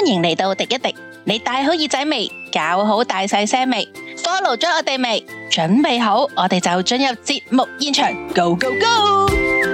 迎嚟到滴一滴，你戴好耳仔未？搞好大細聲未？ follow 咗我哋未？準備好，我哋就進入節目現場 ，Go Go Go！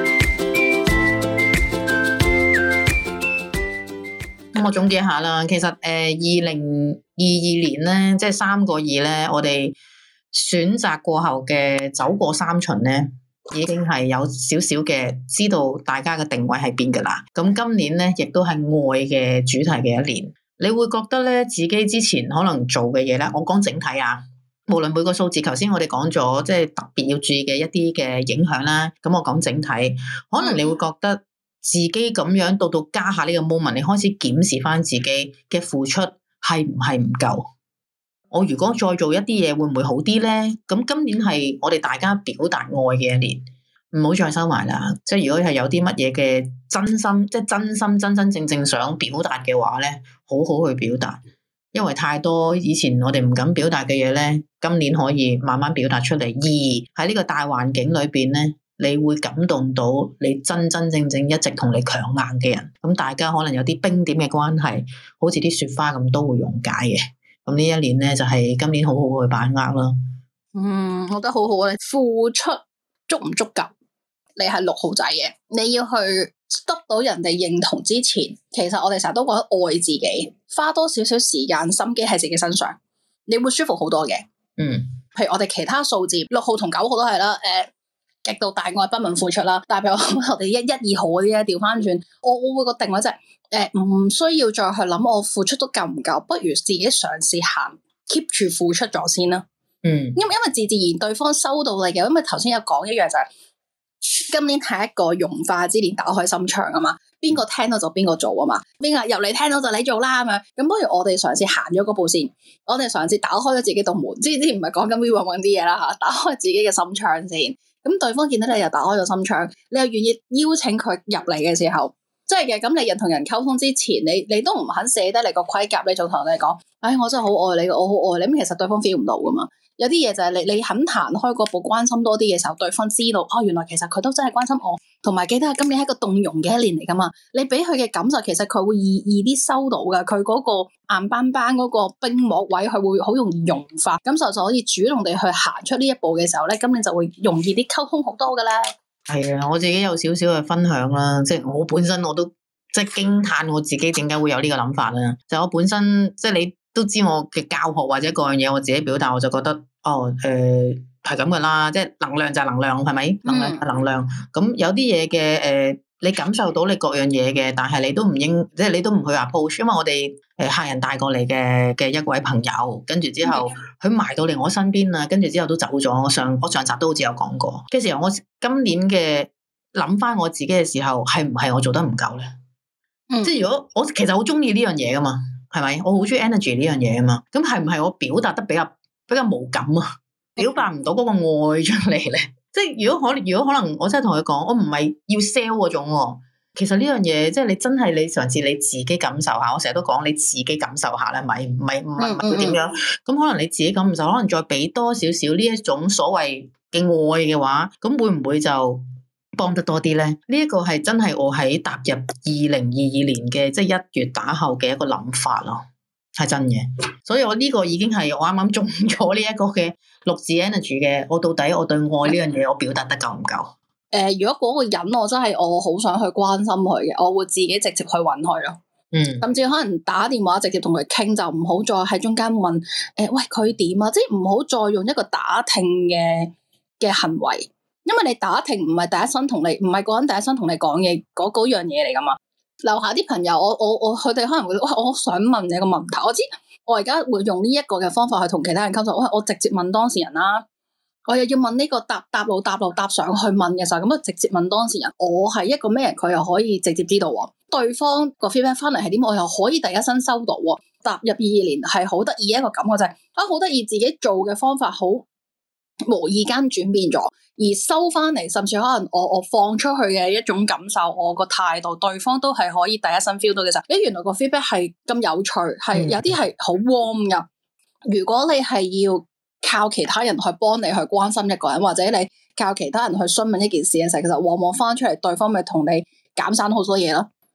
咁我總結下啦，其實2022年咧，即係3個2咧，我哋選擇過後嘅走過3巡咧，已經係有少少嘅知道大家嘅定位喺邊噶啦。咁今年咧，亦都係愛嘅主題嘅一年。你會覺得咧，自己之前可能做嘅嘢咧，我講整體啊，無論每個數字，頭先我哋講咗，即係特別要注意嘅一啲嘅影響啦。咁我講整體，可能你會覺得自己咁樣到家下呢個 moment，你開始檢視翻自己嘅付出係唔係唔夠？我如果再做一啲嘢，會唔會好啲咧？咁今年係我哋大家表達愛嘅一年。唔好再收埋啦，即係如果係有啲乜嘢嘅真心，即係真心真真正正想表達嘅話咧，好好去表達，因為太多以前我哋唔敢表達嘅嘢咧，今年可以慢慢表達出嚟。而喺呢個大環境裏邊咧，你會感動到你真真正正一直同你強硬嘅人，咁大家可能有啲冰點嘅關係，好似啲雪花咁都會溶解嘅。咁呢一年咧就係今年好好去把握啦。 我覺得好好啊！你付出足唔足夠？你係6號仔嘅，你要去得到人哋認同之前，其實我哋成日都覺得愛自己，花多少少時間心機喺自己身上，你會舒服好多嘅。譬如我哋其他數字6號同9號都係啦，極度大愛不問付出啦。但係譬如我哋1、2號嗰啲咧，調翻轉，我會個定位就係唔需要再去諗我付出都夠唔夠，不如自己嘗試行 keep 住付出咗先啦。因為自然對方收到你嘅，因為頭先有講一樣就係。今年係一個融化之年，打開心窗啊嘛，邊個聽到就邊個做啊嘛，邊個入嚟聽到就你做啦咁樣，咁不如我哋嘗試行咗嗰步先，我哋嘗試打開咗自己道門，之前唔係講緊 we 搵啲嘢啦吓，打開自己嘅心窗先，咁對方見到你又打開咗心窗，你又願意邀請佢入嚟嘅時候，即係嘅，咁你人同人溝通之前，你都唔肯寫低你個盔甲，你仲同人哋講，我真係好愛你，我好愛你，咁其實對方 feel 唔到噶嘛。有啲嘢就係你肯彈開嗰步，關心多啲嘅時候，對方知道原來其實佢都真係關心我，同埋記得今年係一個動容嘅一年嚟噶嘛。你俾佢嘅感受，其實佢會易啲收到噶，佢嗰個硬邦邦嗰個冰膜位，佢會好容易融化，咁就可以主動地去行出呢一步嘅時候咧，今年就會容易啲溝通好多噶啦。係啊，我自己有少少嘅分享啦，即係我本身我都即係驚嘆我自己點解會有呢個諗法啦。就我本身即係你都知我嘅教學或者各樣嘢，我自己表達，我就覺得係咁噶啦，即係能量就係能量，係咪？能量係能量。咁有啲嘢嘅你感受到你各樣嘢嘅，但係你都唔應，即係你都唔去 approach，因為我哋客人帶過嚟嘅一位朋友，跟住之後佢埋到嚟我身邊啦，跟住之後都走咗。我上集都好似有講過，跟住我今年嘅諗翻我自己嘅時候，係唔係我做得唔夠咧？即係如果我其實好中意呢樣嘢噶嘛，係咪？我好中意 energy 呢樣嘢噶嘛，咁係唔係我表達得比較無感啊？表達唔到嗰個愛出嚟咧？即係如果可能，我真係同佢講，我唔係要 sell 嗰種喎。其實呢樣嘢，即係你真係你嘗試你自己感受下。我成日都講你自己感受下啦，咪唔係會點樣？咁可能你自己感受，可能再俾多少少呢一種所謂嘅愛嘅話，咁會唔會就幫得多啲咧？呢一個係真係我喺踏入2022年嘅即係1月打後嘅一個諗法咯，係真嘅。所以我呢個已經係我啱啱中咗呢一個嘅6字 energy 嘅。我到底我對愛呢樣嘢我表達得夠唔夠？ 如果嗰個人我真係我好想去關心佢嘅，我會自己直接去搵佢咯。甚至可能打電話直接同佢傾，就唔好再喺中間問喂佢點啊，即係唔好再用一個打聽嘅行為，因為你打聽唔係第一身同你，唔係個人第一身同你講嘢嗰樣嘢嚟噶嘛。樓下啲朋友，我佢哋可能會我好想問你個問題，我知我而家會用呢一個嘅方法去同其他人溝通，我直接問當事人啦。我又要問呢個搭路搭上去問嘅時候，咁啊直接問當事人，我係一個咩人，佢又可以直接知道喎。對方個 feedback 翻嚟係點，我又可以第一身收到喎。踏入22年係好得意一個感覺就係好得意，自己做嘅方法好無意間轉變咗，而收翻嚟，甚至可能我放出去嘅一種感受，我個態度，對方都係可以第一身 feel 到嘅時候，原來個 feedback 係咁有趣，係有啲係好 warm 噶。如果你係要靠其他人去幫你去關心一個人，或者你靠其他人去詢問一件事嘅時候，其實往往翻出嚟，對方咪同你減散好多嘢咯。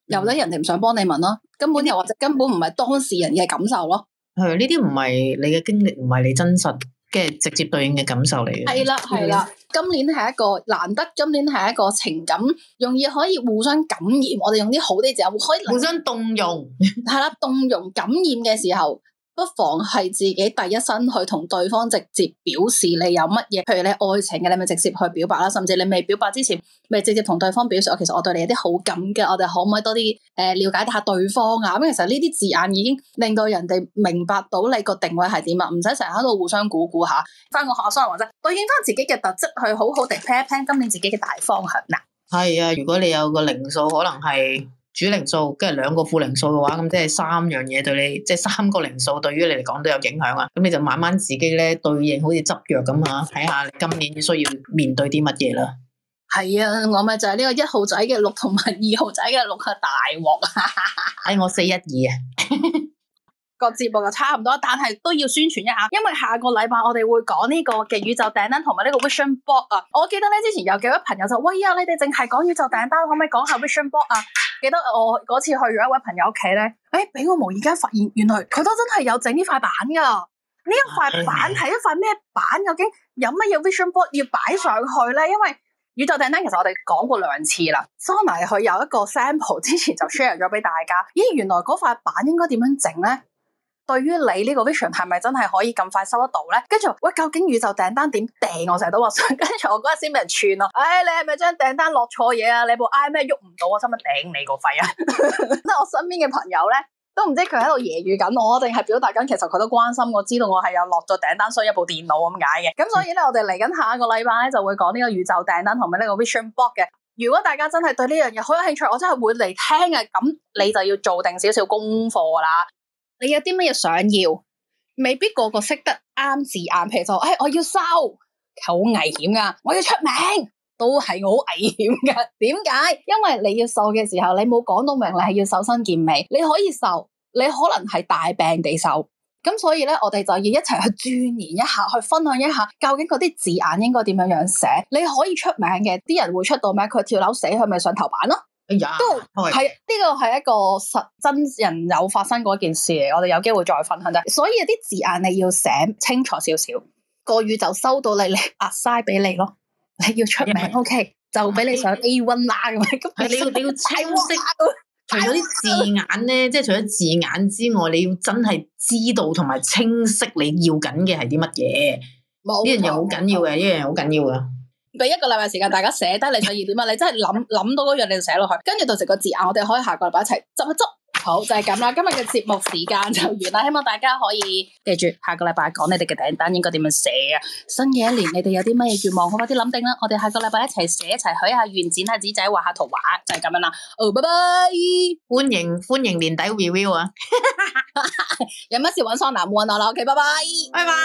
由得人哋唔想幫你問咯，根本又或者根本唔係當事人嘅感受咯。 係呢啲唔係你嘅經歷，唔係你真實嘅直接對應嘅感受嚟嘅。 係啦，今年係一個難得，今年係一個情感容易可以互相感染，我哋用啲好啲字，可以互相動容。 係啦，動容感染嘅時候，不妨係自己第一身去同對方直接表示你有乜嘢，譬如你愛情嘅，你咪直接去表白啦，甚至你未表白之前，咪直接同對方表示，其實我對你有啲好感嘅，我哋可唔可以多啲了解下對方啊？咁其實呢啲字眼已經令到人哋明白到你個定位係點啊，唔使成日喺度互相估下，翻個學生或者對應翻自己嘅特質，去好好地 plan 一 plan 今年自己嘅大方向嗱。 係啊，如果你有個零數，可能係主零數，跟住2個副零數嘅話，咁即係3樣嘢對你，即係3個零數對於你嚟講都有影響啊。咁你就慢慢自己咧對應，好似執藥咁啊，睇下你今年需要面對啲乜嘢啦。 係啊，我咪就係呢個1號仔嘅6同埋2號仔嘅6嘅大鑊啊！ 我412啊。 個節目就差唔多，但係都要宣傳一下，因為下個禮拜我哋會講呢個嘅宇宙訂單同埋呢個 Vision Board 啊。我記得咧之前有幾位朋友就喂啊，你哋淨係講宇宙訂單，可唔可以講下 Vision Board 啊？記得我嗰次去咗一位朋友屋企咧，俾我無意間發現，原來佢都真係有整呢塊板噶。呢一塊板係一塊咩板？究竟有乜嘢 Vision Board 要擺上去咧？因為宇宙訂單其實我哋講過2次啦，Sona佢有一個 sample 之前就 share 咗俾大家。咦，原來嗰塊板應該點樣整咧？對於你呢個 vision 係咪真係可以咁快收得到咧？跟住喂，究竟宇宙訂單點訂？我成日都話想，跟住我嗰日先俾人串咯。你係咪將訂單落錯嘢啊？你部 iMac 喐唔到啊？使乜頂你個肺啊？即係我身邊嘅朋友咧，都唔知佢喺度揶揄緊我，定係表達緊其實佢都關心我，知道我係有落咗訂單，需要一部電腦咁解嘅。咁所以咧，我哋嚟緊下一個禮拜咧就會講呢個宇宙訂單同埋呢個 vision board 嘅。如果大家真係對呢樣嘢好有興趣，我真係會嚟聽嘅。咁你就要做定少少功課啦。你有啲乜嘢想要，未必個個識得啱字眼，譬如就我要收，好危險噶；我要出名，都係好危險噶。點解？因為你要瘦嘅時候，你冇講到明你係要瘦身健美，你可以瘦，你可能係大病地瘦。咁所以咧，我哋就要一齊去鑽研一下，去分享一下，究竟嗰啲字眼應該點樣寫。你可以出名嘅，啲人會出到名，佢跳樓死，佢咪上頭版咯。都係呢個係一個實真人有發生過一件事嚟，我哋有機會再分享啫。所以有啲字眼你要寫清楚少少，個宇宙收到你assign俾你咯。你要出名 ，OK， 就俾你上 A1 啦咁樣。咁你要清晰。除咗啲字眼咧，即係除咗字眼之外，你要真係知道同埋清晰你要緊嘅係啲乜嘢。呢樣嘢好緊要嘅，呢樣嘢好緊要嘅。 俾1個禮拜時間大家寫低你想要點啊！你真係諗到嗰樣你就寫落去，跟住到時個字眼我哋可以下個禮拜一齊執一執。好，就係咁啦，今日嘅節目時間就完啦，希望大家可以記住下個禮拜講你哋嘅訂單應該點樣寫啊！新嘅一年你哋有啲乜嘢願望，好快啲諗定啦！我哋下個禮拜一齊寫，一齊許下願，剪下紙仔，畫下圖畫，就係咁樣啦。拜拜！ 歡迎年底 review 啊！ 有乜事搵Sona揾我啦，OK， 拜拜， 拜拜。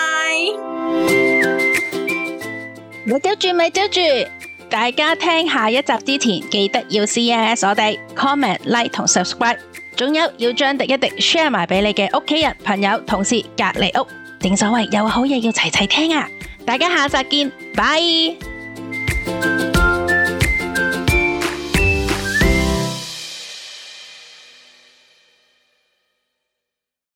咪丟住，大家聽下一集之前記得要 CLS 我哋 comment like 同 subscribe， 仲有要將廸一廸 share 埋俾你嘅屋企人、朋友、同事、隔離屋，正所謂有好嘢要齊齊聽啊！大家下集見，拜。